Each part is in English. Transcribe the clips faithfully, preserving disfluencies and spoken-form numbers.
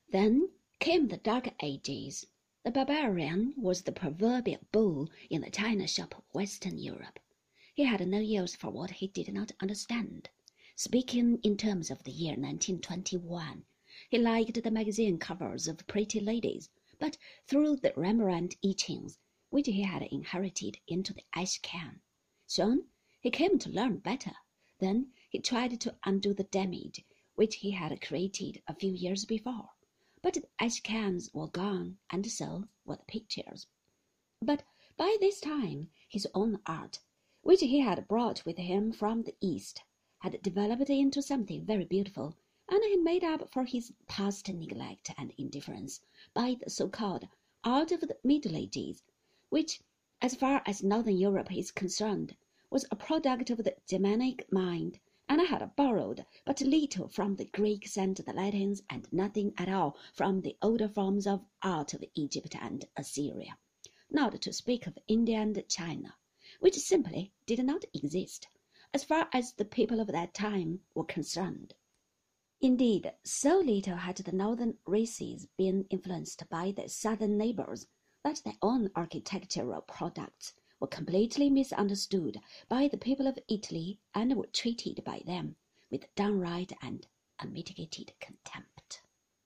Then came the Dark Ages. The barbarian was the proverbial bull in the china shop of Western Europe. He had no use for what he did not understand. Speaking in terms of the year nineteen twenty-one, he liked the magazine covers of pretty ladies, but threw the Rembrandt etchings, which he had inherited, into the ash can. Soon he came to learn better. Then he tried to undo the damage which he had created a few years before. But the ash cans were gone, and so were the pictures. But by this time his own art, which he had brought with him from the East, had developed into something very beautiful, and he made up for his past neglect and indifference by the so-called art of the Middle Ages, which, as far as Northern Europe is concerned, was a product of the Germanic mind, and had borrowed but little from the Greeks and the Latins, and nothing at all from the older forms of art of Egypt and Assyria, not to speak of India and China, which simply did not exist, as far as the people of that time were concerned. Indeed, so little had the northern races been influenced by their southern neighbors that their own architectural products were completely misunderstood by the people of Italy and were treated by them with downright and unmitigated contempt.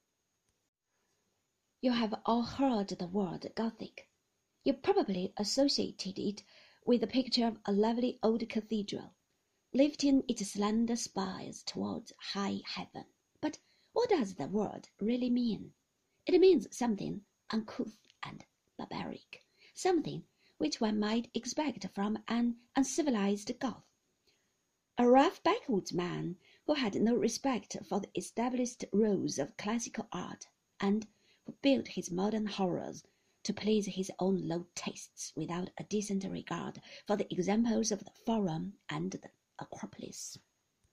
You have all heard the word Gothic. You probably associated it with the picture of a lovely old cathedral, lifting its slender spires towards high heaven. But what does the word really mean? It means something uncouth and barbaric, something which one might expect from an uncivilized Goth. A rough backwoods man who had no respect for the established rules of classical art, and who built his modern horrors to please his own low tastes without a decent regard for the examples of the Forum and the Acropolis.